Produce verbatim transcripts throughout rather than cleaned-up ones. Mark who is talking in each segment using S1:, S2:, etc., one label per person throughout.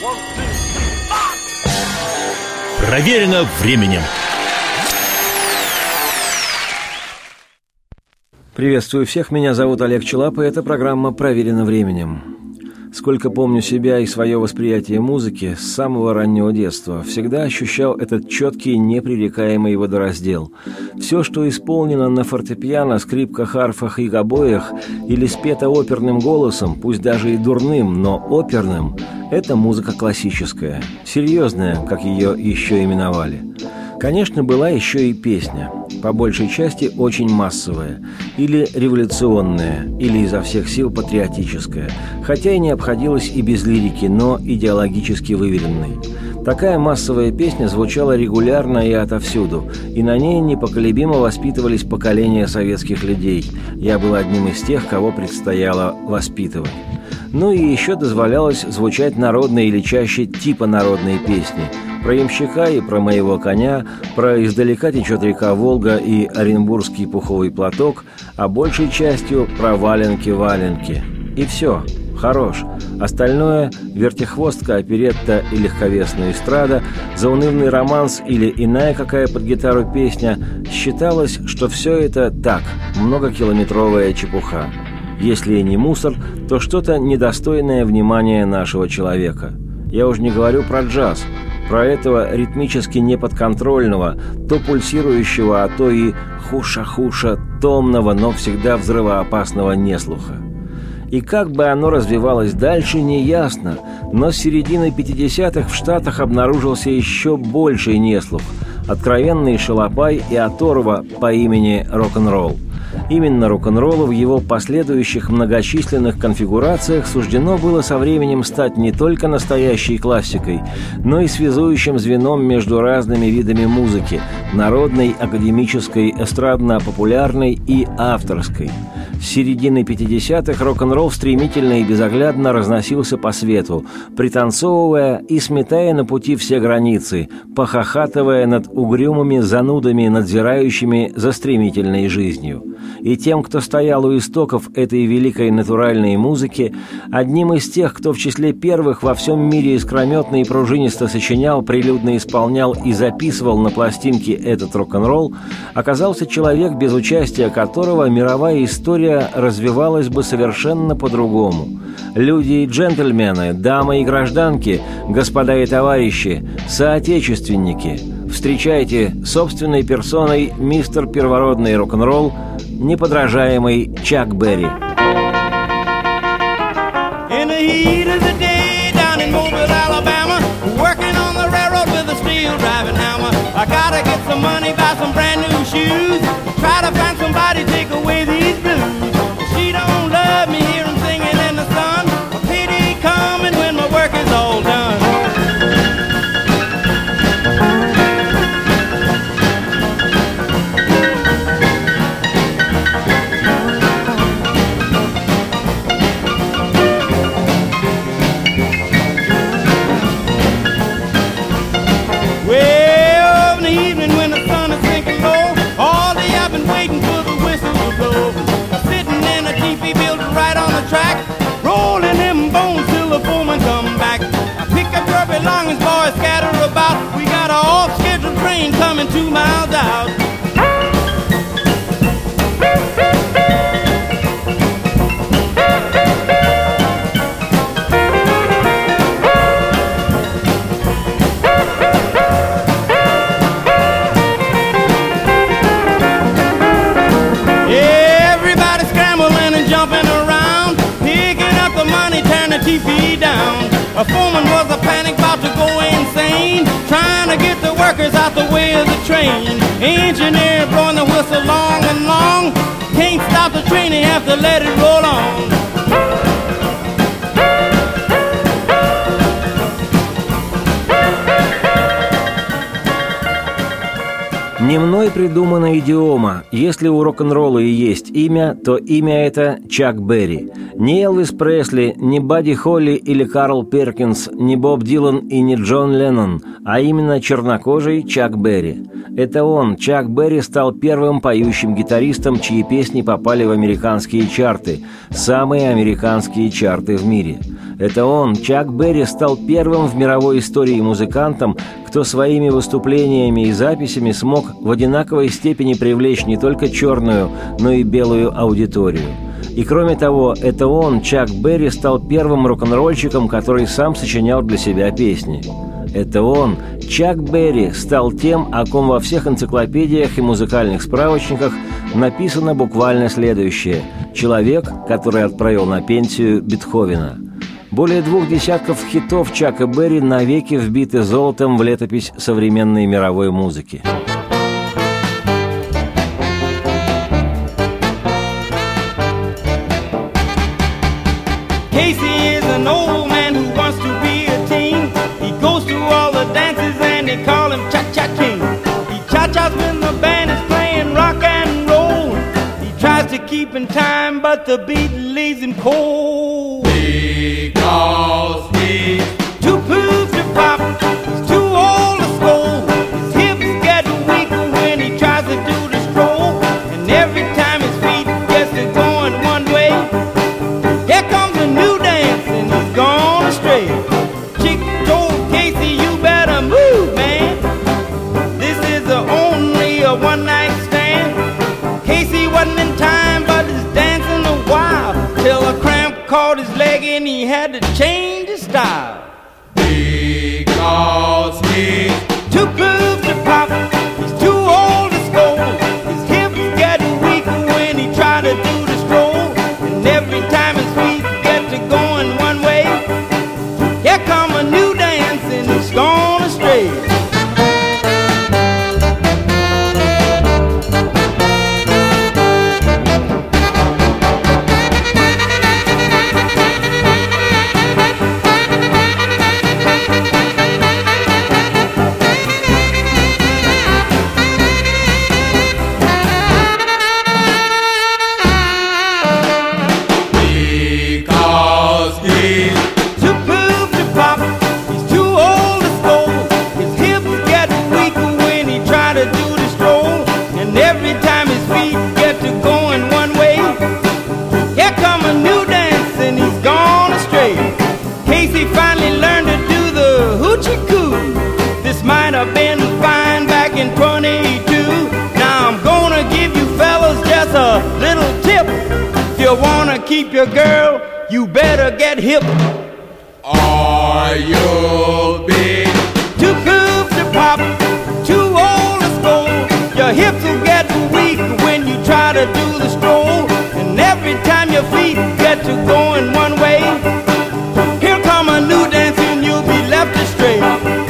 S1: Проверено временем.
S2: Приветствую всех, меня зовут Олег Челап, и эта программа «Проверено временем». Сколько помню себя и свое восприятие музыки, с самого раннего детства всегда ощущал этот четкий, непререкаемый водораздел. Все, что исполнено на фортепиано, скрипках, арфах и гобоях или спето оперным голосом, пусть даже и дурным, но оперным, это музыка классическая, серьезная, как ее еще именовали. Конечно, была еще и песня, по большей части очень массовая, или революционная, или изо всех сил патриотическая, хотя и не обходилась и без лирики, но идеологически выверенной. Такая массовая песня звучала регулярно и отовсюду, и на ней непоколебимо воспитывались поколения советских людей. Я был одним из тех, кого предстояло воспитывать. Ну и еще дозволялось звучать народные или чаще типа народные песни. Про ямщика и про моего коня, про «Издалека течет река Волга» и «Оренбургский пуховый платок», а большей частью про «Валенки-валенки». И все, хорош. Остальное – вертихвостка, оперетта и легковесная эстрада, заунывный романс или иная какая под гитару песня – считалось, что все это так, многокилометровая чепуха. Если и не мусор, то что-то недостойное внимания нашего человека. Я уж не говорю про джаз, про этого ритмически неподконтрольного, то пульсирующего, а то и хуша-хуша, томного, но всегда взрывоопасного неслуха. И как бы оно развивалось дальше, неясно, но с середины пятидесятых в Штатах обнаружился еще больший неслух, откровенный шалопай и оторва по имени рок-н-ролл. Именно рок-н-роллу в его последующих многочисленных конфигурациях суждено было со временем стать не только настоящей классикой, но и связующим звеном между разными видами музыки – народной, академической, эстрадно-популярной и авторской. С середины пятидесятых рок-н-ролл стремительно и безоглядно разносился по свету, пританцовывая и сметая на пути все границы, похохатывая над угрюмыми занудами, надзирающими за стремительной жизнью. И тем, кто стоял у истоков этой великой натуральной музыки, одним из тех, кто в числе первых во всем мире искрометно и пружинисто сочинял, прилюдно исполнял и записывал на пластинки этот рок-н-ролл, оказался человек, без участия которого мировая история развивалась бы совершенно по-другому. Люди и джентльмены, дамы и гражданки, господа и товарищи, соотечественники, встречайте собственной персоной мистер первородный рок-н-ролл, неподражаемый Чак Берри.
S3: In the heat of the day down in Mobile, Alabama, working on the railroad with a steel driving hammer. I gotta get some money, buy some brand new shoes, try to find somebody to take away these blues. She don't love me, hear 'em singing in the sun. A pity coming when my work is all done. Track, rolling them bones till the foreman come back. I pick up your belongings, boys, scatter about. We got a off-scheduled train coming two miles out. Everybody scrambling and jumping around, the money, turn the T V down. A foreman was a panic, about to go insane, trying to get the workers out the way of the train. Engineer blowing the whistle long and long, can't stop the train, he have to let it roll on.
S2: Не мной придумана идиома. Если у рок-н-ролла и есть имя, то имя это Чак Берри. Ни Элвис Пресли, ни Бадди Холли или Карл Перкинс, ни Боб Дилан и ни Джон Леннон, а именно чернокожий Чак Берри. Это он, Чак Берри, стал первым поющим гитаристом, чьи песни попали в американские чарты, самые американские чарты в мире. Это он, Чак Берри, стал первым в мировой истории музыкантом, кто своими выступлениями и записями смог в одинаковой степени привлечь не только черную, но и белую аудиторию. И кроме того, это он, Чак Берри, стал первым рок-н-ролльщиком, который сам сочинял для себя песни. Это он, Чак Берри, стал тем, о ком во всех энциклопедиях и музыкальных справочниках написано буквально следующее: человек, который отправил на пенсию Бетховена. Более двух десятков хитов Чака Берри навеки вбиты золотом в летопись современной мировой музыки.
S3: Casey is an old man who wants to be a teen. He goes to all the dances and they call him Cha-Cha King. He cha-chas when the band is playing rock and roll. He tries to keep in time, but the beat leaves him cold. Because he's too poop to pop, he's too old to scold. His hips get weaker when he tries to do the stroll. And every time his feet gets to going one way, here comes a new dance and he's gone astray. Chick told Casey, you better move, man. This is a only a one-night stand. Casey wasn't in time, but he's dancing a while, till a cramp caught his leg and he had to change his style. Because he's too groove to pop, he's too old to scold. His hips get weaker when he try to do the stroll. And every time his feet get to going one way, here come a new dance and he's gone astray. Keep your girl, you better get hip, or you'll be too cool to pop, too old to scold. Your hips will get weak when you try to do the stroll. And every time your feet get to going one way, here come a new dance and you'll be left astray.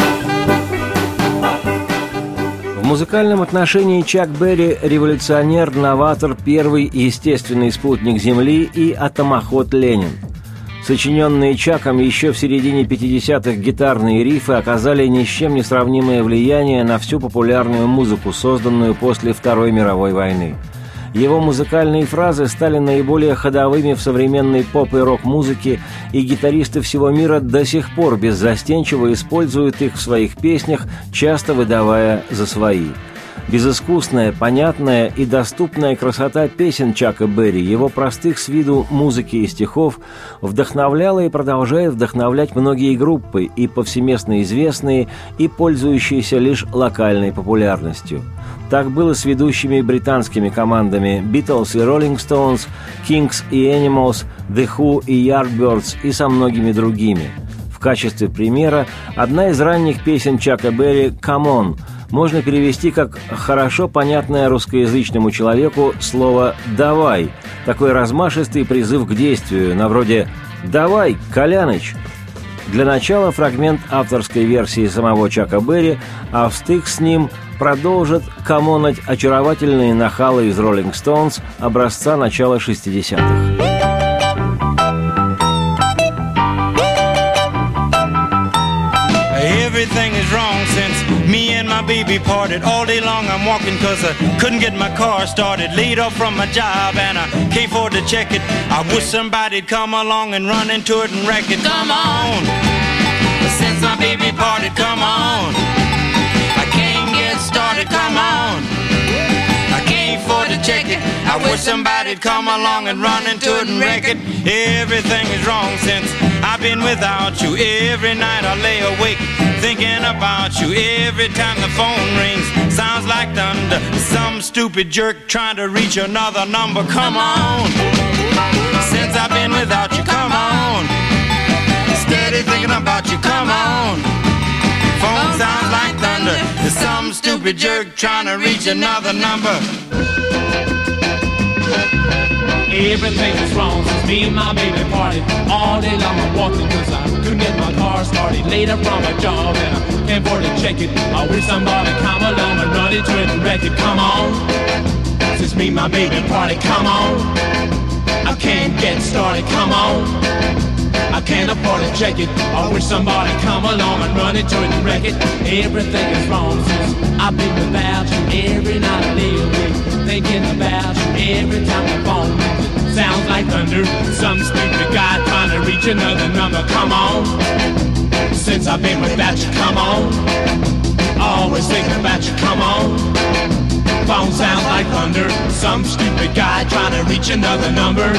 S2: В музыкальном отношении Чак Берри – революционер, новатор, первый естественный спутник Земли и атомоход Ленин. Сочиненные Чаком еще в середине пятидесятых гитарные рифы оказали ни с чем не сравнимое влияние на всю популярную музыку, созданную после Второй мировой войны. Его музыкальные фразы стали наиболее ходовыми в современной поп- и рок-музыке, и гитаристы всего мира до сих пор беззастенчиво используют их в своих песнях, часто выдавая за свои. Безыскусная, понятная и доступная красота песен Чака Берри, его простых с виду музыки и стихов, вдохновляла и продолжает вдохновлять многие группы, и повсеместно известные, и пользующиеся лишь локальной популярностью. Так было с ведущими британскими командами Beatles и Rolling Stones, Kings и Animals, The Who и Yardbirds и со многими другими. В качестве примера одна из ранних песен Чака Берри «Come On» можно перевести как хорошо понятное русскоязычному человеку слово «давай», такой размашистый призыв к действию, на вроде «давай, Коляныч». Для начала фрагмент авторской версии самого Чака Берри, а встык с ним продолжат камонать очаровательные нахалы из Rolling Stones образца начала шестидесятых.
S3: Everything is wrong since me and my baby parted. All day long I'm walking cause I couldn't get my car started. Laid off from my job and I can't afford to check it. I wish somebody'd come along and run into it and wreck it. Come on, since my baby parted, come on. I can't get started, come on. I can't afford to check it. I wish somebody'd come along and run into it and wreck it. Everything is wrong since I've been without you. Every night I lay awake thinking about you. Every time the phone rings, sounds like thunder. Some stupid jerk trying to reach another number. Come on, since I've been without you, come on. Steady thinking about you, come on. Phone sounds like thunder. There's some stupid jerk trying to reach another number.
S1: Everything is wrong since me and my baby parted. All day long I'm walking cause I couldn't get my car started. Later from my job and I can't afford to check it. I wish somebody come along and run into it and wreck it. Come on, since me and my baby parted, come on. I can't get started, come on. I can't afford to check it. I wish somebody come along and run into it and wreck it. Everything is wrong since I've been without you. Every night I lay awake thinking about you. Every time the phone rings, it sounds like thunder. Some stupid guy trying to reach another number. Come on, since I've been without you, come on. Always thinking about you, come on. Phone sounds like thunder. Some stupid guy trying to reach another number.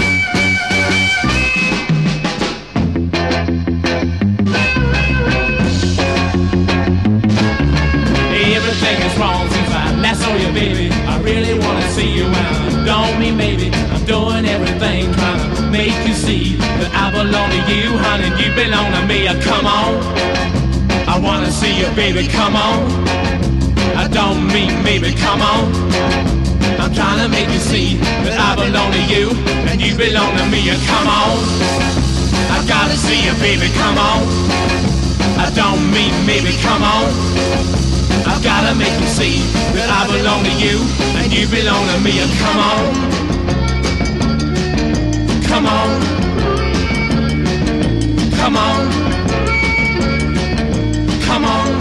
S1: Everything is wrong since I last saw you, baby. I really wanna see you and I don't mean maybe. I'm doing everything trying to make you see that I belong to you, honey, and you belong to me. Come on, I wanna see you, baby, come on. I don't mean maybe, come on. I'm trying to make you see that I belong to you and you belong to me. Come on, I gotta see you, baby, come on. I don't mean maybe, come on. I've gotta make you see that I belong to you and you belong to me. Come on, come on, come on, come on.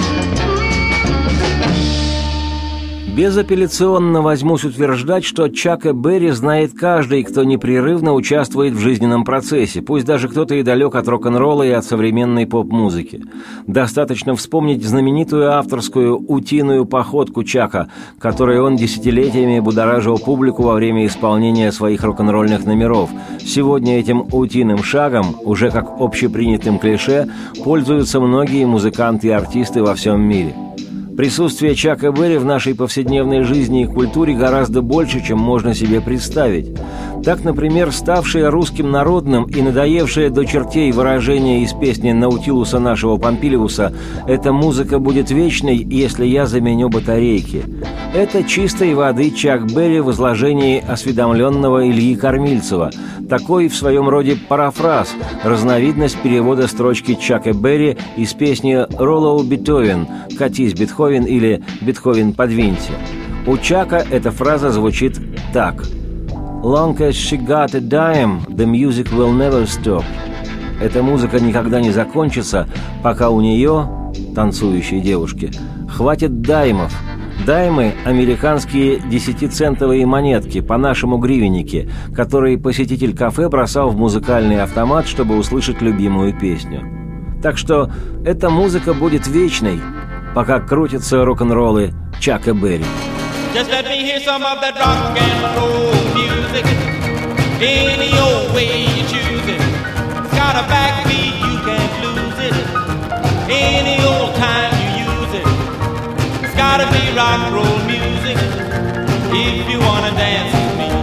S2: Безапелляционно возьмусь утверждать, что Чака Берри знает каждый, кто непрерывно участвует в жизненном процессе, пусть даже кто-то и далек от рок-н-ролла и от современной поп-музыки. Достаточно вспомнить знаменитую авторскую утиную походку Чака, которой он десятилетиями будоражил публику во время исполнения своих рок-н-ролльных номеров. Сегодня этим утиным шагом, уже как общепринятым клише, пользуются многие музыканты и артисты во всем мире. Присутствие Чака Берри в нашей повседневной жизни и культуре гораздо больше, чем можно себе представить. Так, например, ставшее русским народным и надоевшее до чертей выражение из песни Наутилуса нашего Помпилиуса «Эта музыка будет вечной, если я заменю батарейки». Это чистой воды Чак Берри в изложении осведомленного Ильи Кормильцева. Такой в своем роде парафраз, разновидность перевода строчки Чака Берри из песни «Роллоу Бетховен» «Катись, Бетховен» или «Бетховен, подвинься». У Чака эта фраза звучит так: «Long as she got a dime, the music will never stop». Эта музыка никогда не закончится, пока у нее, танцующей девушки, хватит даймов. Даймы – американские десятицентовые монетки, по-нашему гривенники, которые посетитель кафе бросал в музыкальный автомат, чтобы услышать любимую песню. Так что эта музыка будет вечной, пока крутятся рок-н-роллы Чака Берри.
S3: Just let me hear some of that rock and roll music. Any old way you choose it. It's got a backbeat, you can't lose it. Any old time you use it. It's gotta be rock and roll music. If you wanna dance with me.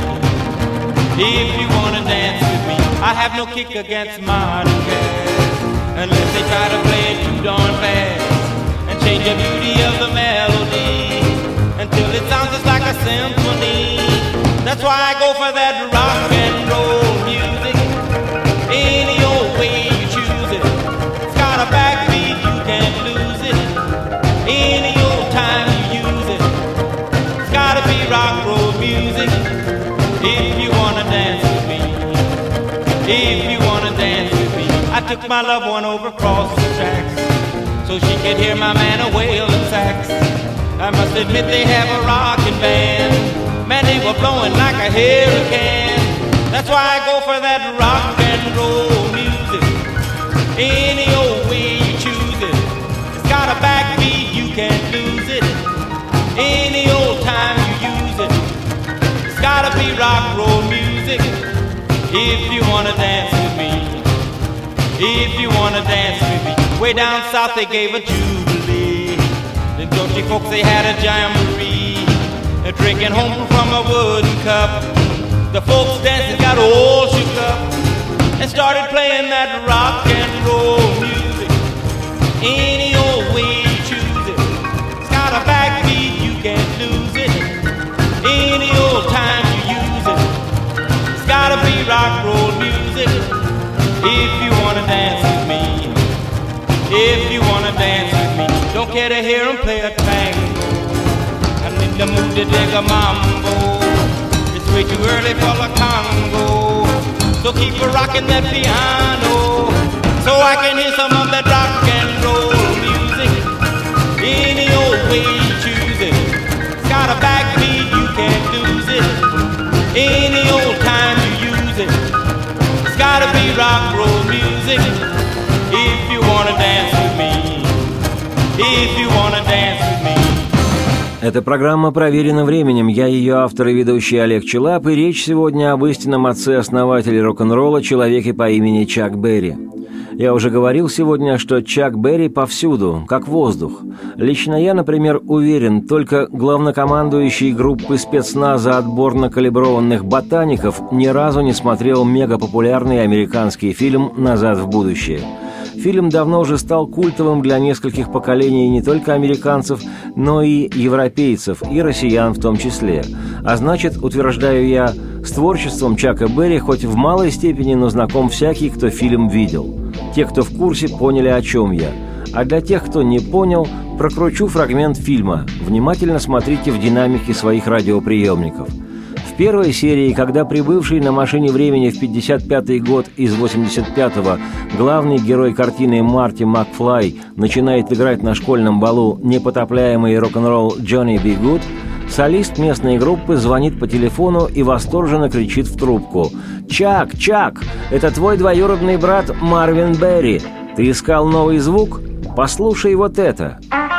S3: If you wanna dance with me. I have no kick against modern jazz, unless they try to play it too darn fast and change the beauty of the melody until it sounds just like a symphony. That's why I go for that rock and roll music. Any old way you choose it. It's got a backbeat, you can't lose it. Any old time you use it. It's gotta be rock and roll music. If you wanna dance with me. If you wanna dance with me. I took my loved one over across the tracks. so she could hear my man a wailing sax. I must admit they have a rockin' band. Man, they were blowing like a hurricane. That's why I go for that rock and roll music. Any old way you choose it. It's got a backbeat, you can't lose it. Any old time you use it. It's gotta be rock roll music. If you wanna dance with me, if you wanna dance with me. Way down south they gave a jubilee. The Dutchy folks they had a jamboree. They're drinking home from a wooden cup. The folks dancing got all shook up and started playing that rock and roll music. Any old way you choose it. It's got a backbeat, you can't lose it. Any old time you use it. It's gotta be rock roll music. If you wanna dance with me, if you wanna dance with me, don't care to hear 'em play a tango. I'm in the mood to dig a mambo. It's way too early for the Congo, so keep a rockin' that piano, so I can hear some of that rock and roll music. Any old way you choose it. It's got a backbeat, you can't lose it. Any old time you use it. It's gotta be rock roll music. If you wanna dance with me, if you wanna dance with me.
S2: Эта программа проверена временем. Я ее автор и ведущий Олег Челап, и речь сегодня об истинном отце-основателе рок-н-ролла, человеке по имени Чак Берри. Я уже говорил сегодня, что Чак Берри повсюду, как воздух. Лично я, например, уверен, только главнокомандующий группы спецназа отборно-калиброванных ботаников ни разу не смотрел мегапопулярный американский фильм «Назад в будущее». Фильм давно уже стал культовым для нескольких поколений не только американцев, но и европейцев, и россиян в том числе. А значит, утверждаю я, с творчеством Чака Берри хоть в малой степени, но знаком всякий, кто фильм видел. Те, кто в курсе, поняли, о чем я. А для тех, кто не понял, прокручу фрагмент фильма. Внимательно смотрите в динамике своих радиоприемников. В первой серии, когда прибывший на машине времени в пятьдесят пятый год из восемьдесят пятого главный герой картины Марти Макфлай начинает играть на школьном балу непотопляемый рок-н-ролл Джонни Би Гуд, солист местной группы звонит по телефону и восторженно кричит в трубку: «Чак, Чак, это твой двоюродный брат Марвин Берри. Ты искал новый звук? Послушай вот это».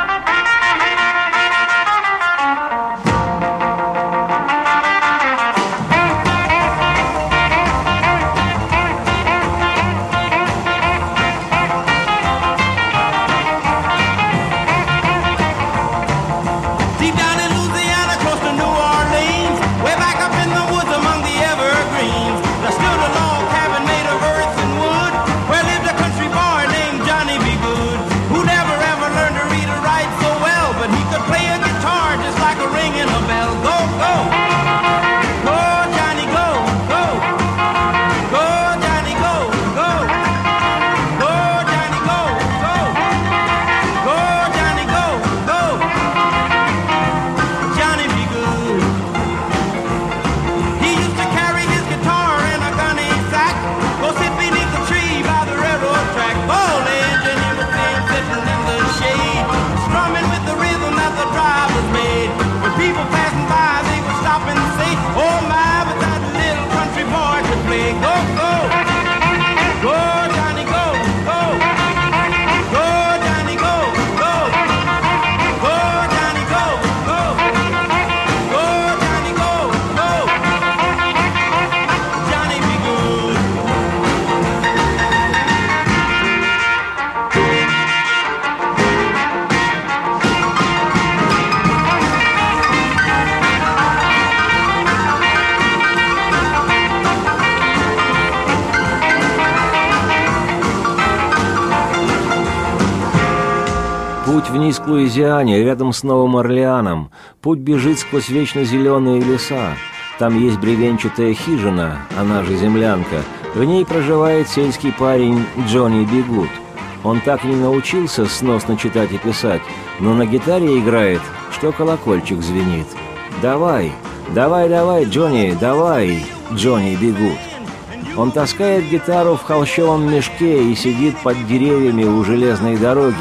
S2: Путь вниз к Луизиане, рядом с Новым Орлеаном. Путь бежит сквозь вечно зеленые леса. Там есть бревенчатая хижина, она же землянка. В ней проживает сельский парень Джонни Би Гуд. Он так и не научился сносно читать и писать, но на гитаре играет, что колокольчик звенит. «Давай, давай, давай, Джонни, давай, Джонни Би Гуд». Он таскает гитару в холщовом мешке и сидит под деревьями у железной дороги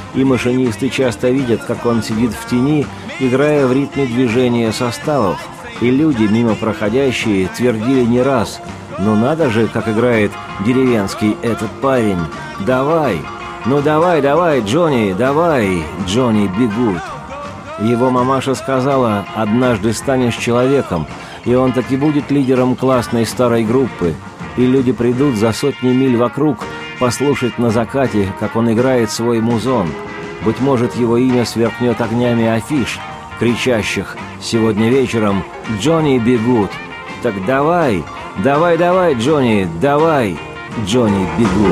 S2: и машинисты часто видят, как он сидит в тени, играя в ритме движения составов. И люди, мимо проходящие, твердили не раз: «Ну надо же, как играет деревенский этот парень! Давай! Ну давай, давай, Джонни, давай, Джонни Бигуд!» Его мамаша сказала: «Однажды станешь человеком, и он таки будет лидером классной старой группы, и люди придут за сотни миль вокруг послушать на закате, как он играет свой музон. Быть может, его имя сверкнет огнями афиш, кричащих сегодня вечером: Джонни Бигуд! Так давай, давай, давай, Джонни, давай, Джонни Бигуд!»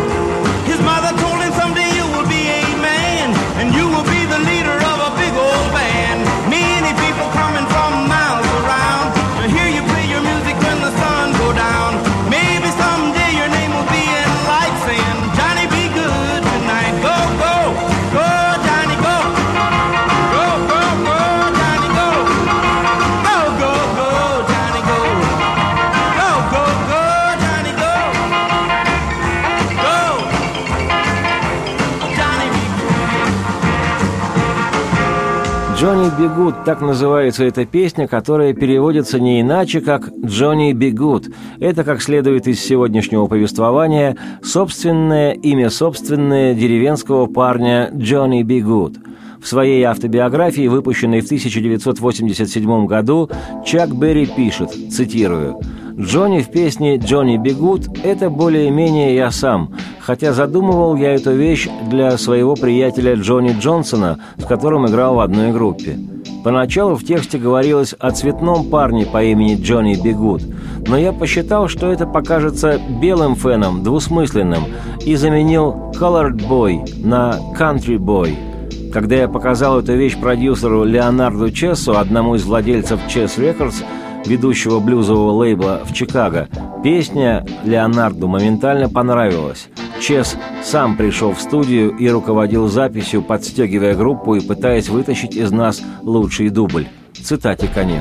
S2: «Джонни Бигуд» — так называется эта песня, которая переводится не иначе, как «Джонни Бигуд». Это, как следует из сегодняшнего повествования, собственное имя собственное деревенского парня Джонни Бигуд. В своей автобиографии, выпущенной в тысяча девятьсот восемьдесят седьмом году, Чак Берри пишет, цитирую: «Джонни в песне «Джонни Бигуд» — это более-менее я сам, хотя задумывал я эту вещь для своего приятеля Джонни Джонсона, с которым играл в одной группе. Поначалу в тексте говорилось о цветном парне по имени Джонни Бигуд, но я посчитал, что это покажется белым феном, двусмысленным, и заменил «colored boy» на «country boy». Когда я показал эту вещь продюсеру Леонарду Чессу, одному из владельцев Chess Records, ведущего блюзового лейбла в Чикаго, песня Леонарду моментально понравилась. Чес сам пришел в студию и руководил записью, подстегивая группу и пытаясь вытащить из нас лучший дубль. Цитате конец.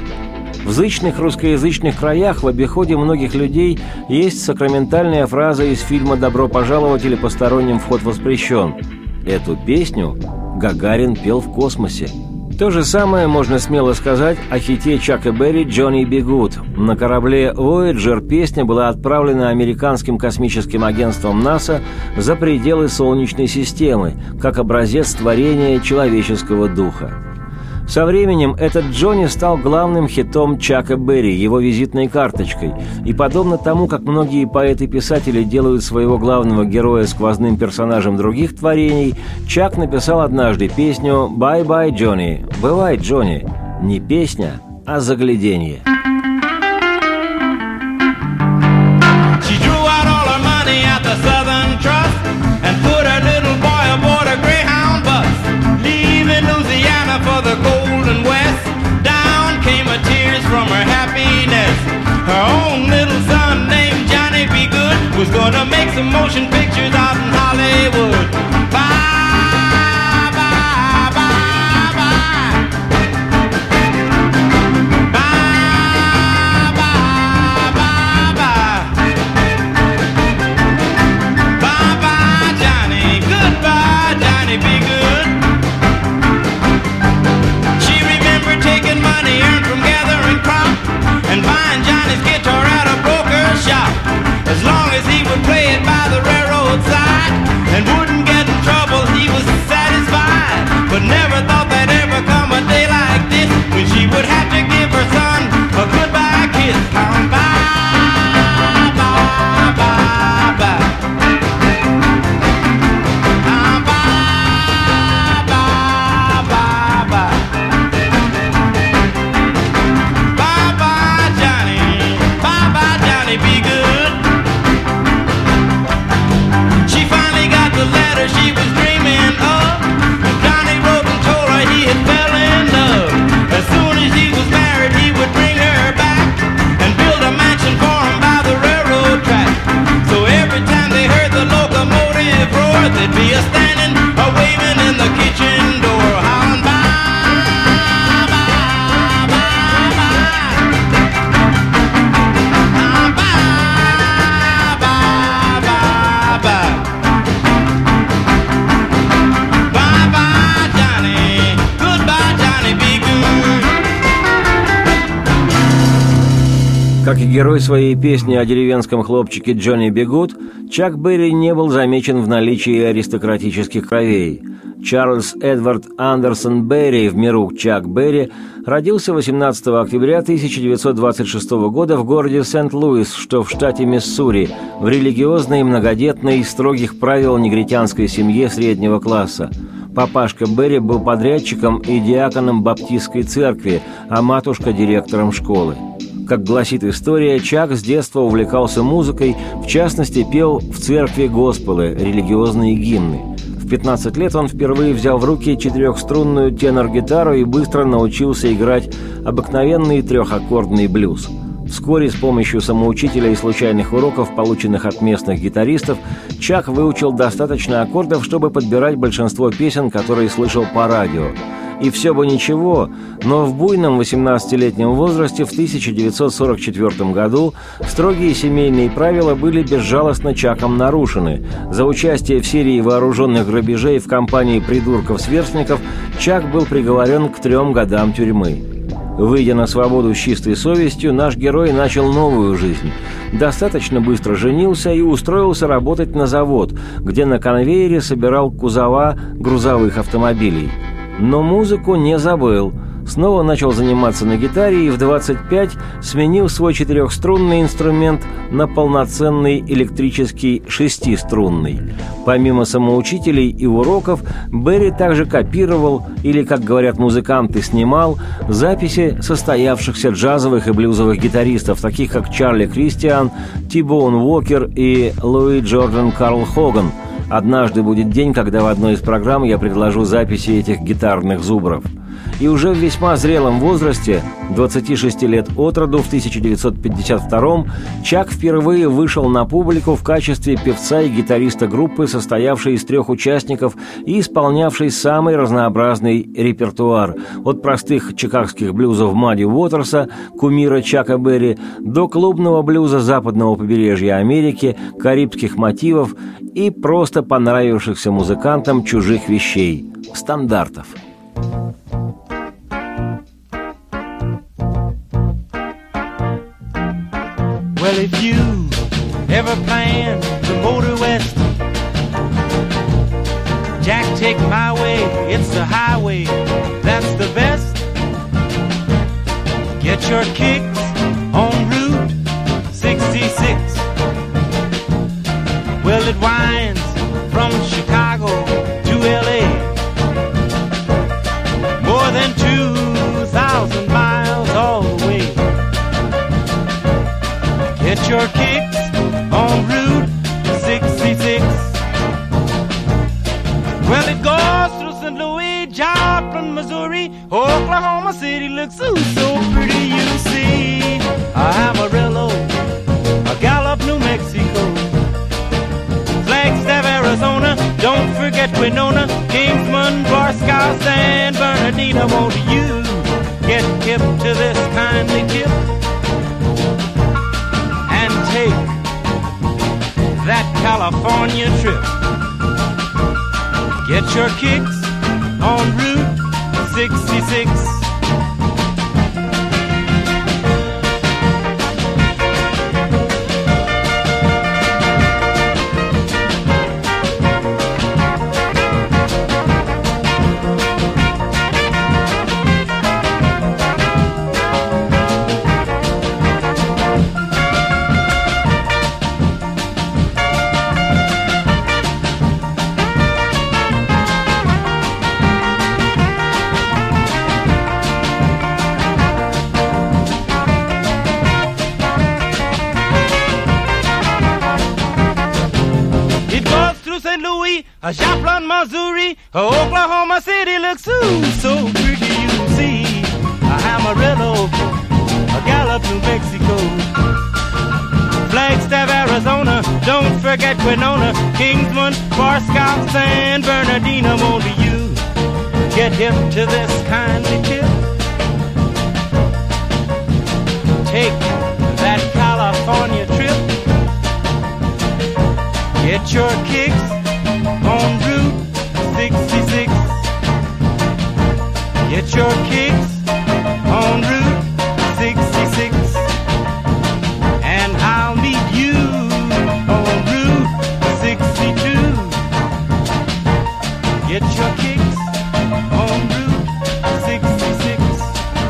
S2: В зычных русскоязычных краях в обиходе многих людей есть сакраментальная фраза из фильма «Добро пожаловать» или «Посторонним вход воспрещен». Эту песню Гагарин пел в космосе. То же самое можно смело сказать о хите Чака Берри «Джонни Бигуд». На корабле Voyager песня была отправлена американским космическим агентством НАСА за пределы Солнечной системы, как образец творения человеческого духа. Со временем этот Джонни стал главным хитом Чака Берри, его визитной карточкой. И подобно тому, как многие поэты-писатели делают своего главного героя сквозным персонажем других творений, Чак написал однажды песню «Bye-bye, Джонни». «Бывай, Джонни». Не песня, а загляденье.
S3: For the golden west, down came a tears from her happiness. Her own little son named Johnny B. Good was gonna make some motion pictures out in Hollywood. Bye, bye, bye, bye. Bye, bye, bye, bye. Bye, bye, Johnny. Goodbye, Johnny B. Good. Taking money earned from gathering crop and buying Johnny's guitar at a broker's shop. As long as he would play it by the railroad side and wouldn't get in trouble, he was satisfied. But never thought there'd ever come a day like this when she would have to give her son a goodbye kiss. Bye, bye, bye, bye, bye. She was dreaming of. Johnny wrote and told her he had fell in love. As soon as he was married, he would bring her back and build a mansion for him by the railroad track. So every time they heard the locomotive roar, they'd be a standing, a waving in the kitchen door, howling bye, bye, bye, bye. Bye, bye, bye, bye.
S2: Как и герой своей песни о деревенском хлопчике Джонни Би Гуд, Чак Берри не был замечен в наличии аристократических кровей. Чарльз Эдвард Андерсон Берри, в миру Чак Берри, родился восемнадцатого октября тысяча девятьсот двадцать шестого года в городе Сент-Луис, что в штате Миссури, в религиозной, многодетной, строгих правил негритянской семье среднего класса. Папашка Берри был подрядчиком и диаконом баптистской церкви, а матушка – директором школы. Как гласит история, Чак с детства увлекался музыкой, в частности, пел в церкви госпелы, религиозные гимны. В пятнадцать лет он впервые взял в руки четырехструнную тенор-гитару и быстро научился играть обыкновенный трехаккордный блюз. Вскоре с помощью самоучителя и случайных уроков, полученных от местных гитаристов, Чак выучил достаточно аккордов, чтобы подбирать большинство песен, которые слышал по радио. И все бы ничего, но в буйном восемнадцатилетнем возрасте в тысяча девятьсот сорок четвёртом году строгие семейные правила были безжалостно Чаком нарушены. За участие в серии вооруженных грабежей в компании придурков-сверстников Чак был приговорен к трем годам тюрьмы. Выйдя на свободу с чистой совестью, наш герой начал новую жизнь. Достаточно быстро женился и устроился работать на завод, где на конвейере собирал кузова грузовых автомобилей. Но музыку не забыл. Снова начал заниматься на гитаре и в двадцать пять сменил свой четырехструнный инструмент на полноценный электрический шестиструнный. Помимо самоучителей и уроков, Берри также копировал, или, как говорят музыканты, снимал записи состоявшихся джазовых и блюзовых гитаристов, таких как Чарли Кристиан, Ти-Боун Уокер и Луи Джордан Карл Хоган. Однажды будет день, когда в одной из программ я предложу записи этих гитарных зубров. И уже в весьма зрелом возрасте, двадцати шести лет от роду, в тысяча девятьсот пятьдесят втором, Чак впервые вышел на публику в качестве певца и гитариста группы, состоявшей из трех участников и исполнявшей самый разнообразный репертуар, от простых чикагских блюзов Мадди Уотерса, кумира Чака Берри, до клубного блюза западного побережья Америки, карибских мотивов и просто понравившихся музыкантам чужих вещей, стандартов.
S3: Well, if you ever plan to motor west, Jack, take my way, it's the highway, that's the best. Get your kicks on Route sixty-six. Well, it winds from Chicago to L A, more than two thousand miles all the way. Get your kicks on Route sixty-six. Well, it goes through Saint Louis, Joplin, Missouri, Oklahoma City looks so, so pretty, you see. Amarillo, Gallup, New Mexico, Flagstaff, Arizona, don't forget Winona, Kingsman, Barstow, San Bernardino. Won't you get hip to this kindly tip? Take that California trip. Get your kicks on Route sixty-six. Joplin, Missouri, Oklahoma City looks so, so pretty, you see. Amarillo, Gallup, New Mexico, Flagstaff, Arizona, don't forget Winona, Kingsman, Barstow, San Bernardino. Won't you get hip to this kindly tip? Take that California trip. Get your kicks on Route sixty-six. Get your kicks on Route sixty-six. Get your kicks on Route шестьдесят шесть.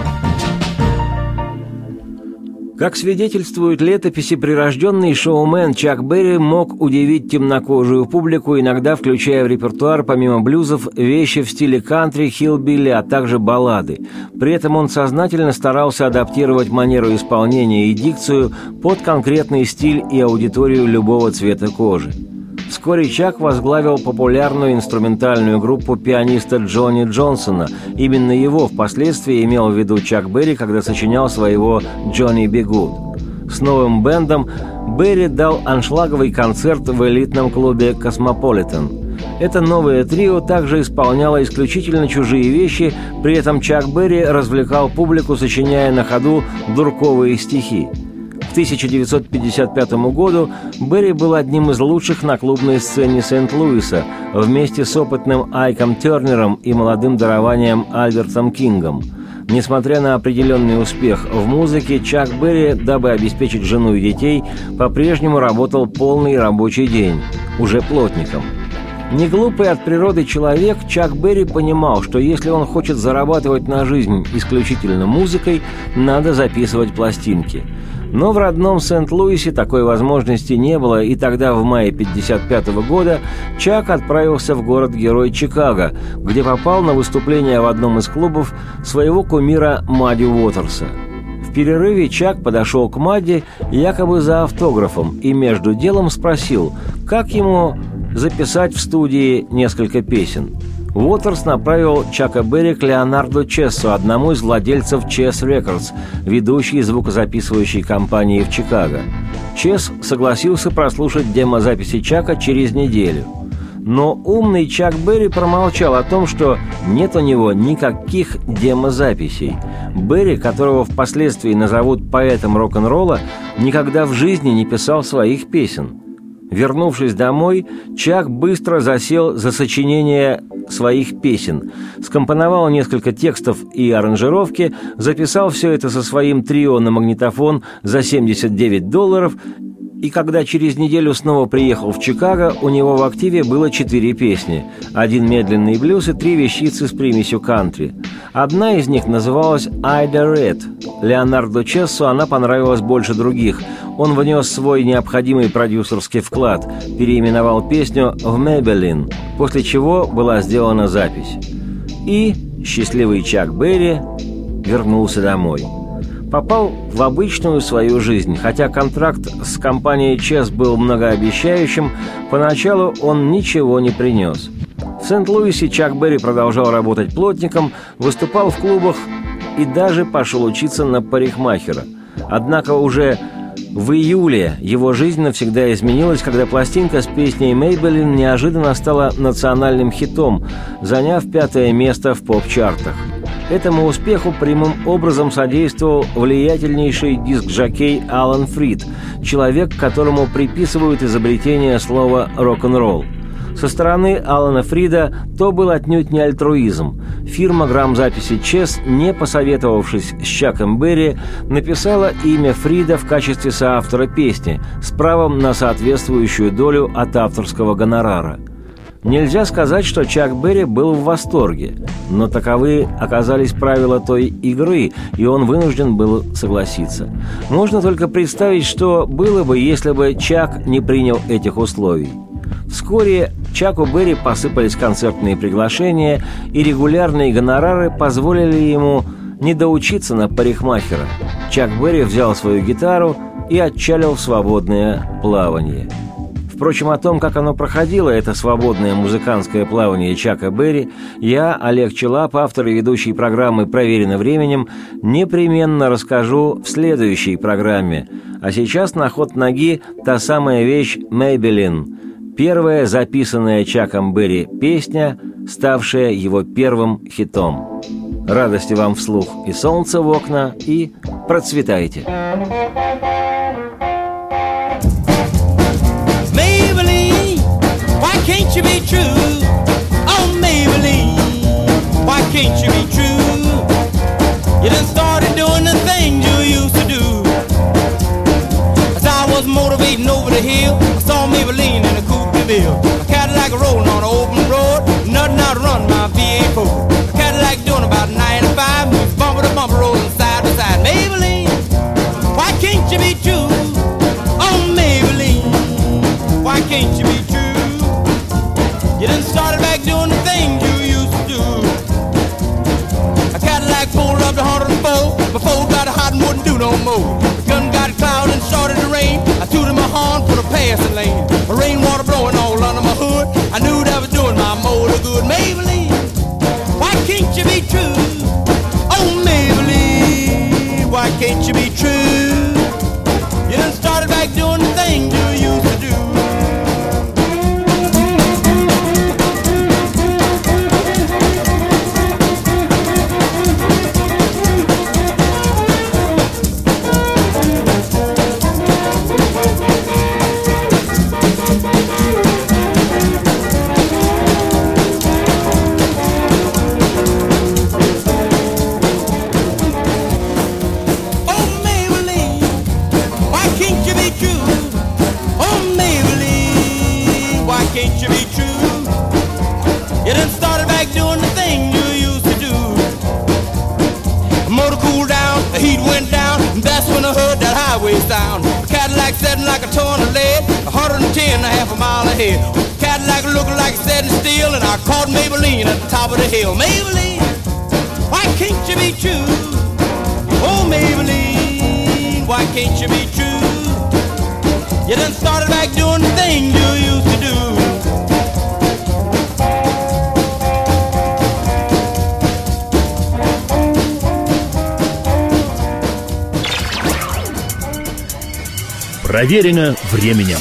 S2: Как свидетельствуют летописи, прирожденный шоумен Чак Берри мог удивить темнокожую публику, иногда включая в репертуар, помимо блюзов, вещи в стиле кантри, хиллбилли, а также баллады. При этом он сознательно старался адаптировать манеру исполнения и дикцию под конкретный стиль и аудиторию любого цвета кожи. Вскоре Чак возглавил популярную инструментальную группу пианиста Джонни Джонсона. Именно его впоследствии имел в виду Чак Берри, когда сочинял своего «Johnny B. Good». С новым бэндом Берри дал аншлаговый концерт в элитном клубе «Космополитен». Это новое трио также исполняло исключительно чужие вещи, при этом Чак Берри развлекал публику, сочиняя на ходу дурковые стихи. К тысяча девятьсот пятьдесят пятому году Берри был одним из лучших на клубной сцене Сент-Луиса вместе с опытным Айком Тернером и молодым дарованием Альбертом Кингом. Несмотря на определенный успех в музыке, Чак Берри, дабы обеспечить жену и детей, по-прежнему работал полный рабочий день, уже плотником. Неглупый от природы человек, Чак Берри понимал, что если он хочет зарабатывать на жизнь исключительно музыкой, надо записывать пластинки. Но в родном Сент-Луисе такой возможности не было, и тогда, в мае пятьдесят пятого года, Чак отправился в город-герой Чикаго, где попал на выступление в одном из клубов своего кумира Мадди Уотерса. В перерыве Чак подошел к Мадди якобы за автографом и между делом спросил, как ему записать в студии несколько песен. Уотерс направил Чака Берри к Леонарду Чессу, одному из владельцев Chess Records, ведущей звукозаписывающей компании в Чикаго. Чесс согласился прослушать демозаписи Чака через неделю. Но умный Чак Берри промолчал о том, что нет у него никаких демозаписей. Берри, которого впоследствии назовут поэтом рок-н-ролла, никогда в жизни не писал своих песен. Вернувшись домой, Чак быстро засел за сочинение своих песен, скомпоновал несколько текстов и аранжировки, записал все это со своим трио на магнитофон за семьдесят девять долларов, и когда через неделю снова приехал в Чикаго, у него в активе было четыре песни, один медленный блюз и три вещицы с примесью кантри. Одна из них называлась «Айда Ред». Леонарду Чессу она понравилась больше других. Он внес свой необходимый продюсерский вклад, переименовал песню в «Maybelline», после чего была сделана запись. И счастливый Чак Берри вернулся домой. Попал в обычную свою жизнь. Хотя контракт с компанией Chess был многообещающим, поначалу он ничего не принес. В Сент-Луисе Чак Берри продолжал работать плотником, выступал в клубах и даже пошел учиться на парикмахера. Однако уже в июле его жизнь навсегда изменилась, когда пластинка с песней «Maybelline» неожиданно стала национальным хитом, заняв пятое место в поп-чартах. Этому успеху прямым образом содействовал влиятельнейший диск-жокей Алан Фрид, человек, которому приписывают изобретение слова «рок-н-ролл». Со стороны Алана Фрида то был отнюдь не альтруизм. Фирма грамзаписи Chess, не посоветовавшись с Чаком Берри, написала имя Фрида в качестве соавтора песни с правом на соответствующую долю от авторского гонорара. Нельзя сказать, что Чак Берри был в восторге, но таковы оказались правила той игры, и он вынужден был согласиться. Можно только представить, что было бы, если бы Чак не принял этих условий. Вскоре Чаку Берри посыпались концертные приглашения, и регулярные гонорары позволили ему не доучиться на парикмахера. Чак Берри взял свою гитару и отчалил в свободное плавание. Впрочем, о том, как оно проходило, это свободное музыкантское плавание Чака Берри, я, Олег Челап, автор и ведущий программы «Проверено временем», непременно расскажу в следующей программе. А сейчас на ход ноги та самая вещь «Maybelline», первая записанная Чаком Берри песня, ставшая его первым хитом. Радости вам вслух и солнца в окна, и процветайте!
S3: Can't you be true? Oh, Maybelline, why can't you be true? You done started doing the things you used to do. As I was motivating over the hill, I saw Maybelline in a coupe de ville. A Cadillac rolling on an open road, nothing about to run my V eight four. A Cadillac doing about ninety-five, bumper to bumper, rolling side to side. Maybelline, why can't you be true? Oh, Maybelline, why can't you be true? You done started back doing the things you used to do. A Cadillac pulled up to one oh four, before got hot and wouldn't do no more. The gun got cloud and started to rain. I tooted my horn for the passing lane. The rainwater blowing all under my hood. I knew that was doing my motor good. Maybelline, why can't you be true? Oh, Maybelline, why can't you be true? You done started back doing the things you used to do. Can't you be true? You done started back doing the thing you used to do. The motor cooled down, the heat went down, and that's when I heard that highway sound. The Cadillac setting like a ton of lead, one hundred ten and a half a mile ahead. The Cadillac looking like it's setting still, and I caught Maybelline at the top of the hill. Maybelline, why can't you be true? Oh, Maybelline, why can't you be true? You done started back doing the thing you used to do.
S4: Проверено временем.